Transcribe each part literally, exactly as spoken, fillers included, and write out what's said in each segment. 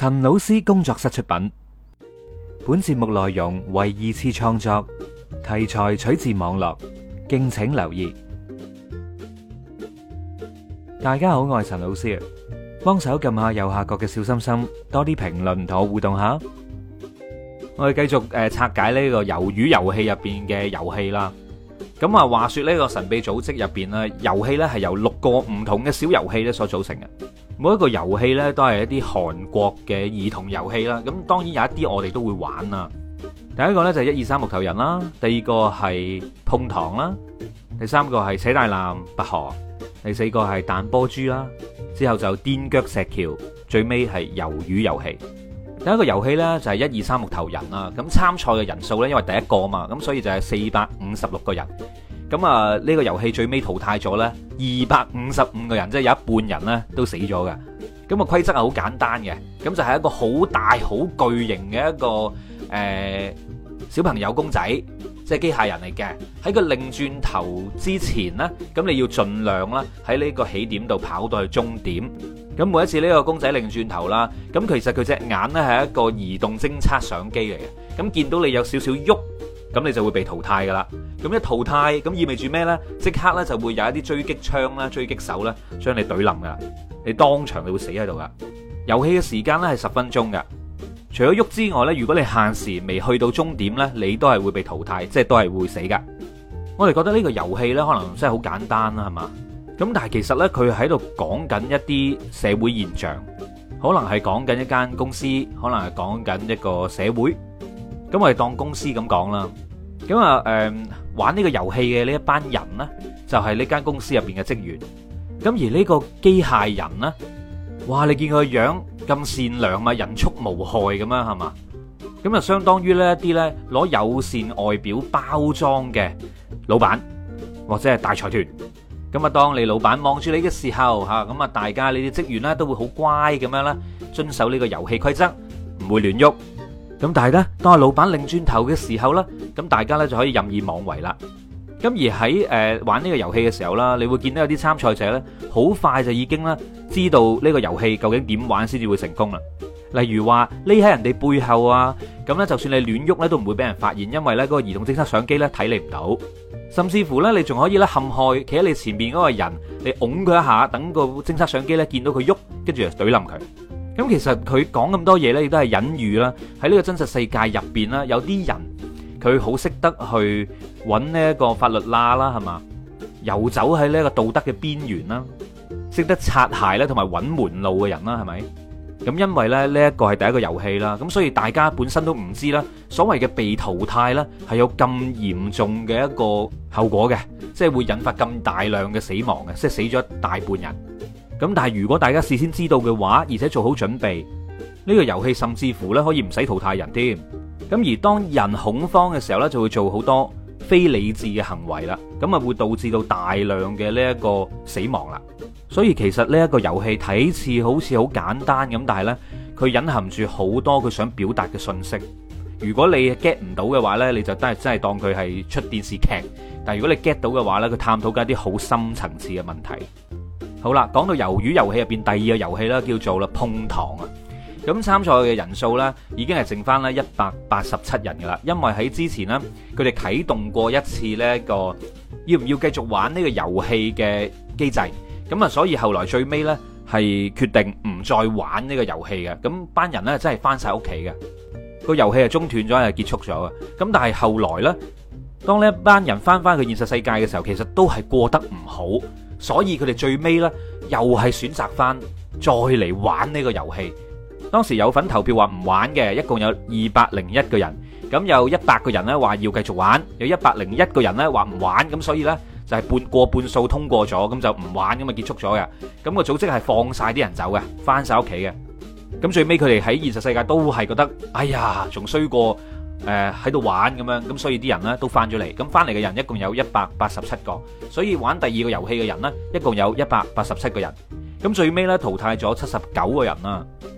陳老師工作室出品，本節目內容為二次創作，題材取自網絡，敬請留意。大家好，我係陳老師，幫手撳下右下角嘅小心心，多啲評論同我互動下。我哋繼續誒拆解呢個魷魚遊戲入邊嘅遊戲啦。咁啊，話說呢個神秘組織入邊咧，遊戲咧係由六個唔同嘅小遊戲咧所組成嘅。每一個遊戲咧都係一啲韓國嘅兒童遊戲啦。咁當然有一啲我哋都會玩啦。第一個咧就係一二三木頭人啦，第二個係碰糖啦，第三個係扯大纜拔河，第四個係彈波珠啦，之後就墊腳石橋，最尾係魷魚遊戲。第一個遊戲呢，就係一二三木頭人啦，咁參賽嘅人數呢，因為第一個啊嘛，咁所以就係四百五十六個人。咁啊呢個遊戲最尾淘汰咗呢，二百五十五個人，即係有一半人呢都死咗嘅。咁個規則係好簡單嘅，咁就係一個好大好巨型嘅一個誒、呃、小朋友公仔，即係機械人嚟嘅。喺個擰轉頭之前呢，咁你要盡量啦喺呢個起點度跑到去終點。咁每一次呢個公仔擰轉頭啦，咁其實佢隻眼呢係一個移動偵測相機嚟嘅。咁見到你有少少喐，咁你就會被淘汰噶啦。咁一淘汰，咁意味住咩呢？即刻呢就會有一啲追擊槍啦、追擊手啦，將你懟冧噶啦。你當場你會死喺度噶。遊戲嘅時間呢係十分鐘噶。除咗喐之外呢，如果你限時未去到終點呢，你都係會被淘汰，即係都係會死噶。我哋覺得呢個遊戲呢，可能真係好簡單啦，係嘛？咁但係其實呢，佢喺度講緊一啲社會現象，可能係講緊一間公司，可能係講緊一個社會。咁我哋當公司咁講啦。咁啊，誒、呃，玩呢個遊戲嘅呢一班人呢，就係呢間公司入邊嘅職員。咁而呢個機械人呢，哇！你見佢個樣咁善良嘛，人畜無害咁樣，係嘛？咁啊，相當於呢一啲呢攞友善外表包裝嘅老闆或者係大財團。咁啊，當你老闆望住你嘅時候，吓咁啊，大家你啲職員咧都會好乖咁樣啦，遵守呢個遊戲規則，唔會亂喐。咁但係咧，當阿老闆擰轉頭嘅時候咧，咁大家咧就可以任意妄為啦。咁而喺誒玩呢個遊戲嘅時候啦，你會見到有啲參賽者咧，好快就已經咧知道呢個遊戲究竟點玩先至會成功啦。例如話匿喺人哋背後啊，咁咧就算你亂喐咧都唔會俾人發現，因為咧嗰個移動偵測相機咧睇你唔到。甚至乎咧，你仲可以咧陷害企喺你前面嗰個人，你擁佢一下，等個偵測相機咧見到佢喐，跟住就懟冧佢。咁其實佢講咁多嘢咧，亦都係隱喻啦。喺呢個真實世界入邊啦，有啲人佢好識得去揾呢一個法律罅啦，係嘛？遊走喺呢一個道德嘅邊緣啦，識得擦鞋咧，同埋揾門路嘅人啦，係咪？咁因為咧呢一個係第一個遊戲啦，咁所以大家本身都唔知啦，所謂嘅被淘汰咧係有咁嚴重嘅一個後果嘅，即係會引發咁大量嘅死亡嘅，即係死咗一大半人。咁但係如果大家事先知道嘅話，而且做好準備，呢個遊戲甚至乎咧可以唔使淘汰人添。咁而當人恐慌嘅時候咧，就會做好多非理智嘅行為啦，咁啊會導致到大量嘅呢一個死亡啦。所以其實呢一個遊戲睇似好似好簡單咁，但係呢，佢隱含住好多佢想表達嘅信息。如果你 get 唔到嘅話呢，你就真係真係當佢係出電視劇。但係如果你 get 到嘅話呢，佢探討緊一啲好深層次嘅問題。好啦，講到魷魚遊戲入邊第二個遊戲啦，叫做啦碰糖啊。咁參賽嘅人數呢，已經係剩翻咧一百八十七人噶啦，因為喺之前呢，佢哋啟動過一次呢一個要唔要繼續玩呢個遊戲嘅機制。咁啊，所以後來最尾呢係決定唔再玩呢個遊戲嘅，咁班人呢真係翻晒屋企嘅，個遊戲係中斷咗，係結束咗嘅。咁但係後來呢，當呢一班人翻翻去現實世界嘅時候，其實都係過得唔好，所以佢哋最尾呢又係選擇翻再嚟玩呢個遊戲。當時有份投票話唔玩嘅，一共有二百零一個人，咁有一百個人呢話要繼續玩，有一百零一個人呢話唔玩，咁所以呢。就係半過半數通過咗，咁就唔玩，咁啊結束咗嘅。咁個組織係放晒啲人走嘅，翻晒屋企嘅。咁最尾佢哋喺現實世界都係覺得，哎呀，仲衰過誒喺度玩咁樣。咁所以啲人呢都翻咗嚟。咁翻嚟嘅人一共有一百八十七個，所以玩第二個遊戲嘅人呢，一共有一百八十七個人。咁最尾呢淘汰咗七十九個人啦。咁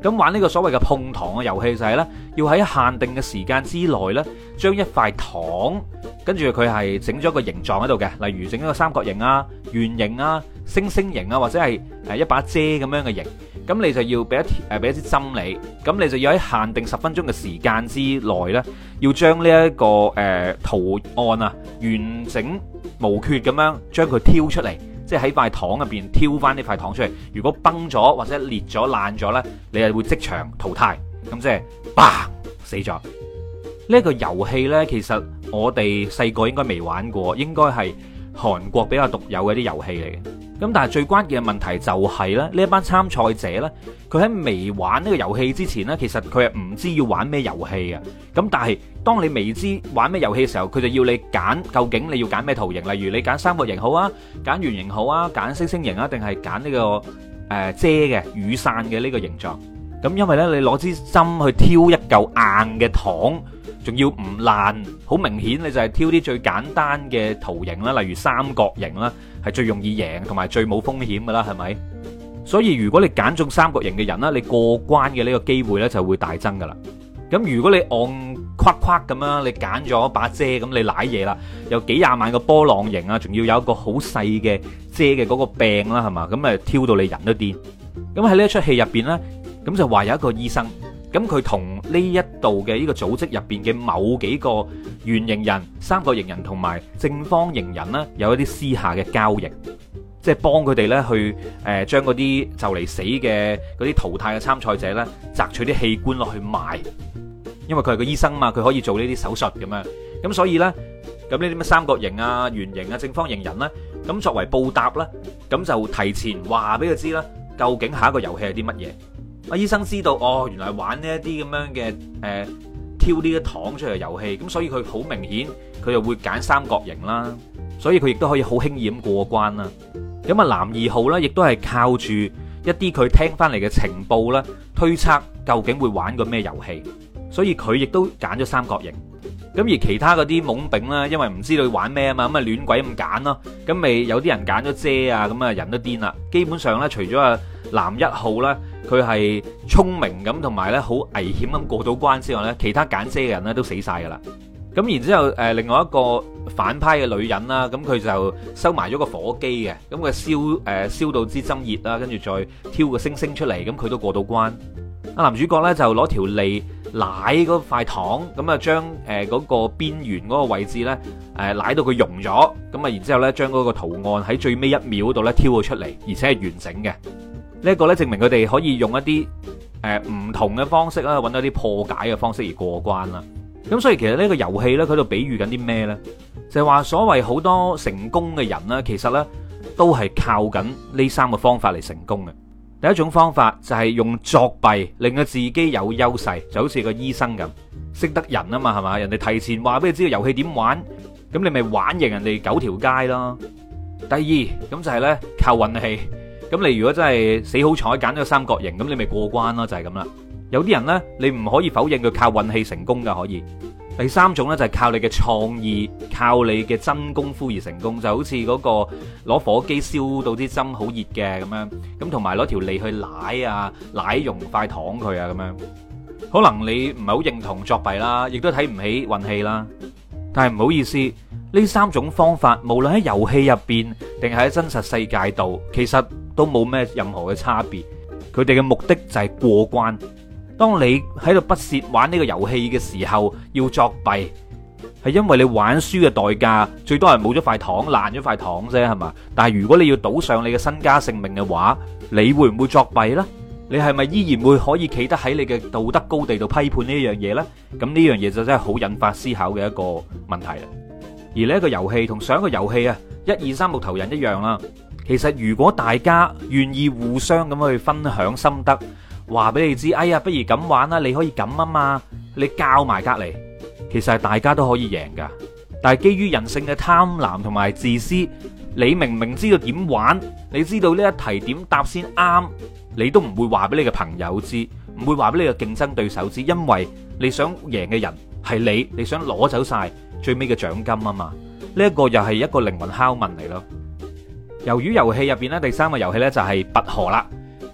咁玩呢個所謂嘅碰糖嘅遊戲就係呢，要喺限定嘅時間之內呢，將一塊糖，跟住佢係整咗個形狀喺度嘅，例如整一個三角形啊、圓形啊、星星形啊，或者係誒一把遮咁樣嘅形。咁你就要俾一誒俾一支針你，咁你就要喺限定十分鐘嘅時間之內呢，要將呢一個誒、呃、圖案啊完整無缺咁樣將佢挑出嚟。即係喺塊糖入邊挑翻呢塊糖出嚟，如果崩咗或者裂咗爛咗呢，你係會即場淘汰，咁即係砰死咗。呢一個遊戲呢，其實我哋細個應該未玩過，應該係韓國比較獨有嘅啲遊戲嚟嘅。咁但係最關鍵嘅問題就係咧，呢一班參賽者呢，佢喺未玩呢個遊戲之前呢，其實佢係唔知要玩咩遊戲嘅。咁但係當你未知玩咩遊戲嘅時候，佢就要你揀，究竟你要揀咩圖形？例如你揀三角形好啊，揀圓形好啊，揀星星形啊，定係揀呢個誒、呃、遮嘅雨傘嘅呢個形狀？咁因為呢，你攞支針去挑一嚿硬嘅糖，仲要唔爛，好明顯你就係挑啲最簡單嘅圖形啦，例如三角形啦，係最容易贏同埋最冇風險噶啦，係咪？所以如果你揀中三角形嘅人啦，你過關嘅呢個機會呢就會大增噶啦。咁如果你按框框咁樣，你揀咗把遮，咁你瀨嘢啦，有幾廿萬個波浪形啊，仲要有一個好細嘅遮嘅嗰個柄啦，係嘛？咁誒挑到你人都癲。咁喺呢一出戲入邊呢，咁就話有一個醫生，咁佢同呢一度嘅呢個組織入邊嘅某幾個圓形人、三角形人同埋正方形人呢，有一啲私下嘅交易，即係幫佢哋呢去誒將嗰啲就嚟死嘅嗰啲淘汰嘅參賽者呢，摘取啲器官落去賣，因為佢係個醫生嘛，佢可以做呢啲手術咁樣，咁所以呢，咁呢啲咩三角形啊、圓形啊、正方形人呢，咁作為報答呢，咁就提前話俾佢知啦，究竟下一個遊戲係啲乜嘢。阿醫生知道哦，原來玩呢一啲咁樣嘅誒、呃、挑呢啲糖出嚟嘅遊戲，咁所以佢好明顯佢就會揀三角形啦，所以佢亦都可以好輕易咁過關啦。咁啊，男二號呢，亦都係靠住一啲佢聽翻嚟嘅情報啦，推測究竟會玩個咩遊戲，所以佢亦都揀咗三角形。咁而其他嗰啲懵丙啦，因為唔知道玩咩啊嘛，咁啊亂鬼咁揀咯，咁咪有啲人揀咗遮啊，咁啊人都癲啦。基本上呢，除咗啊男一號呢，佢係聰明咁同埋呢好危險咁過到關之外呢，其他揀遮嘅人呢都死晒噶啦。咁然之後誒，另外一個反派嘅女人啦，咁佢就收埋咗個火機嘅，咁佢燒誒燒到支針熱啦，跟住再挑個星星出嚟，咁佢都過到關。啊，男主角呢，就攞條脷舐嗰塊糖，咁啊將誒嗰個邊緣嗰個位置呢，誒舐到佢溶咗，咁啊然之後呢將嗰個圖案喺最尾一秒度呢挑咗出嚟，而且係完整嘅。呢一個呢證明佢哋可以用一啲誒唔同嘅方式啦，揾到啲破解嘅方式而過關啦。咁所以其實呢個遊戲呢，佢度比喻緊啲咩呢？就係話所謂好多成功嘅人呢，其實呢都係靠緊呢三個方法嚟成功嘅。第一種方法就係用作弊令到自己有優勢，就好似個醫生咁，識得人啊嘛，係嘛？人哋提前話俾你知個遊戲點玩，咁你咪玩贏人哋九條街咯。第二咁就係呢，靠運氣，咁你如果真係死好彩揀咗三角形，咁你咪過關咯，就係咁啦。有啲人呢，你唔可以否認佢靠運氣成功噶，可以。第三種呢，就係靠你嘅創意，靠你嘅真功夫而成功，就好似嗰個攞火機燒到啲針好熱嘅咁樣，咁同埋攞條脷去舐啊，舐溶塊糖佢啊咁樣。可能你唔係好認同作弊啦，亦都睇唔起運氣啦，但係唔好意思，呢三種方法無論喺遊戲入邊定係喺真實世界度，其實都冇咩任何嘅差別。佢哋嘅目的就係過關。當你喺度不屑玩呢個遊戲嘅時候，要作弊，係因為你玩輸嘅代價最多係冇咗塊糖，爛咗塊糖啫，係嘛？但係如果你要賭上你嘅身家性命嘅話，你會唔會作弊呢？你係咪依然會可以企得喺你嘅道德高地度批判呢樣嘢呢？咁呢樣嘢就真係好引發思考嘅一個問題啦。而呢一個遊戲同上一個遊戲啊，一二三木頭人一樣啦。其實如果大家願意互相咁去分享心得，話俾你知，哎呀，不如咁玩啦，你可以咁啊嘛，你教埋隔籬，其實係大家都可以贏噶。但係基於人性嘅貪婪同埋自私，你明明知道點玩，你知道呢一題點答先啱，你都唔會話俾你嘅朋友知，唔會話俾你嘅競爭對手知，因為你想贏嘅人係你，你想攞走晒最尾嘅獎金啊嘛。呢一個又係一個靈魂拷問嚟咯。魷魚遊戲入邊咧，第三個遊戲咧就係拔河啦。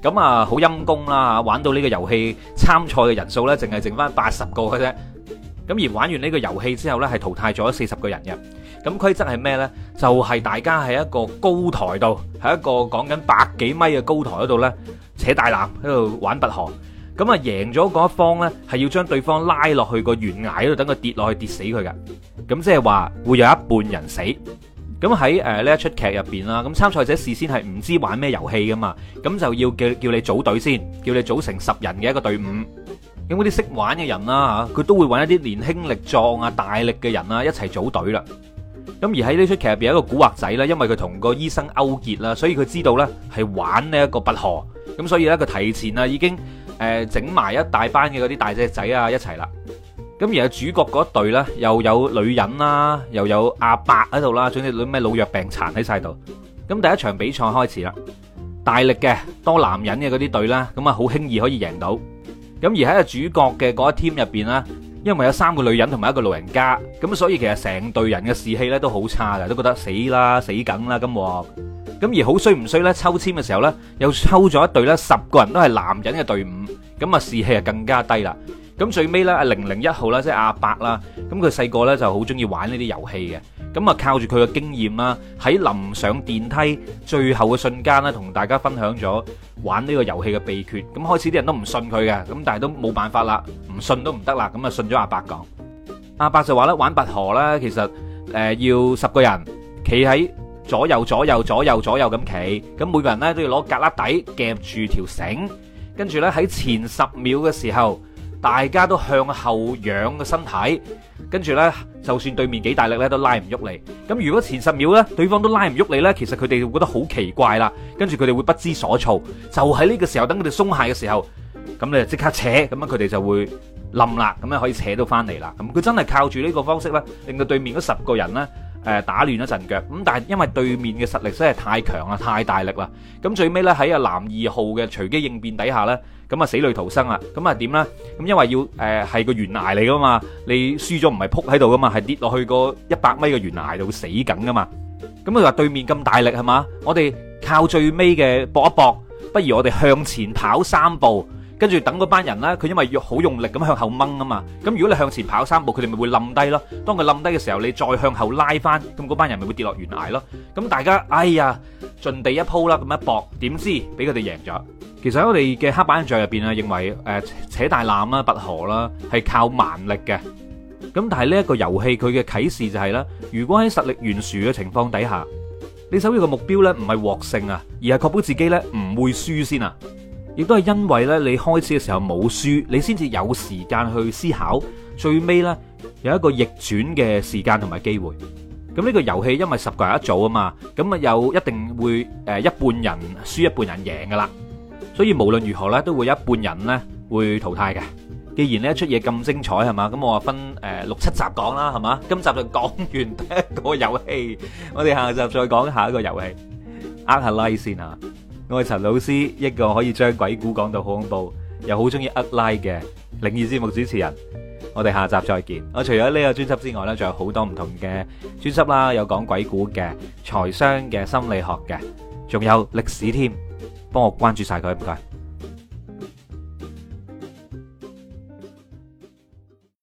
咁啊好陰功啦，玩到呢個遊戲參賽嘅人數呢，淨係剩翻八十個嘅啫。咁而玩完呢個遊戲之後呢，係淘汰咗四十個人嘅。咁規則係咩呢？就係、是、大家喺一個高台度，喺一個講緊百幾米嘅高台嗰度呢，扯大纜喺度玩拔河。咁啊贏咗嗰一方呢，係要將對方拉落去個懸崖嗰度，等佢跌落去跌死佢㗎。咁即係話會有一半人死。咁喺誒呢一出劇入邊啦，咁參賽者事先係唔知玩咩遊戲噶嘛，咁就要叫叫你組隊先，叫你組成十人嘅一個隊伍。咁嗰啲識玩嘅人啦嚇，佢都會揾一啲年輕力壯啊、大力嘅人啊一齊組隊啦。咁而喺呢出劇入邊有一個古惑仔啦，因為佢同個醫生勾結啦，所以佢知道呢係玩呢一個拔河，咁所以呢，佢提前啊已經誒整埋一大班嘅嗰啲大隻仔啊一齊啦。咁而係主角嗰隊咧，又有女人啦，又有阿伯喺度啦，總之咩老弱病殘喺晒度。咁第一場比賽開始啦，大力嘅多男人嘅嗰啲隊啦，咁啊好輕易可以贏到。咁而喺個主角嘅嗰一 team 入邊啦，因為有三個女人同埋一個老人家，咁所以其實成隊人嘅士氣咧都好差嘅，都覺得死啦死梗啦咁喎。咁而好衰唔衰咧？抽籤嘅時候咧，又抽咗一隊咧，十個人都係男人嘅隊伍，咁啊士氣啊更加低啦。咁最尾咧，阿零零一號啦，即係阿伯啦，咁佢細個咧就好中意玩呢啲遊戲嘅，咁啊靠住佢嘅經驗啦，喺臨上電梯最後嘅瞬間咧，同大家分享咗玩呢個遊戲嘅秘訣。咁開始啲人都唔信佢嘅，咁但係都冇辦法啦，唔信都唔得啦，咁啊信咗阿伯講。阿伯就話咧，玩拔河咧，其實誒要十個人企喺左右左右左右左右咁企，咁每個人咧都要攞格旯底夾住條繩，跟住咧喺前十秒嘅時候，大家都向後仰個身體，跟住呢，就算對面幾大力呢，都拉唔喐你。咁如果前十秒呢，對方都拉唔喐你呢，其實佢哋會覺得好奇怪啦，跟住佢哋會不知所措。就喺呢個時候，等佢哋鬆懈嘅時候，咁你就即刻扯，咁樣佢哋就會冧啦，咁樣可以扯到翻嚟啦。咁佢真係靠住呢個方式呢，令到對面嗰十個人呢，誒打亂咗陣腳。咁但係因為對面嘅實力真係太強啦，太大力啦。咁最尾呢，喺阿男二號嘅隨機應變底下呢，咁啊死裏逃生啦！咁啊點咧？咁因為要誒係個懸崖嚟噶嘛，你輸咗唔係撲喺度噶嘛，係跌落去個一百米嘅懸崖度會死緊噶嘛。咁佢話對面咁大力係嘛，我哋靠最尾嘅搏一搏，不如我哋向前跑三步，跟住等嗰班人咧，佢因為要好用力咁向後掹啊嘛。咁如果你向前跑三步，佢哋咪會冧低咯。當佢冧低嘅時候，你再向後拉翻，咁嗰班人咪會跌落懸崖咯。咁大家哎呀盡地一鋪啦，咁一搏，點知俾佢哋贏咗。其實喺我哋嘅黑板印象入邊啊，認為誒扯大纜啦、拔河啦係靠蠻力嘅。咁但係呢一個遊戲佢嘅啟示就係啦，如果喺實力懸殊嘅情況底下，你首要嘅目標呢唔係獲勝啊，而係確保自己呢唔會輸先啊。亦都係因為呢你開始嘅時候冇輸，你先至有時間去思考，最尾呢有一個逆轉嘅時間同埋機會。咁呢個遊戲因為十個人一組啊嘛，咁啊有一定會誒一半人輸一半人贏噶啦。所以無論如何咧，都會有一半人咧會淘汰嘅。既然呢一出嘢咁精彩係嘛，咁我話分誒六七集講啦，係嘛？今集就講完第一個遊戲，我哋下集再講下一個遊戲。呃下 like 先啊！我係陳老師，一個可以將鬼故講到好恐怖，又好中意呃 like 嘅靈異節目主持人。我哋下集再見。我除咗呢個專輯之外咧，仲有好多唔同嘅專輯啦，有講鬼故嘅、財商嘅、心理學嘅，仲有歷史添。幫我關注晒佢，唔該。